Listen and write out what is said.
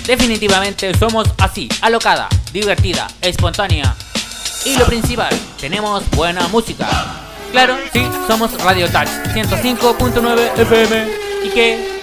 Definitivamente somos así, alocada, divertida, espontánea. Y lo principal, tenemos buena música. Claro, sí, somos Radio Touch 105.9 FM. ¿Y qué?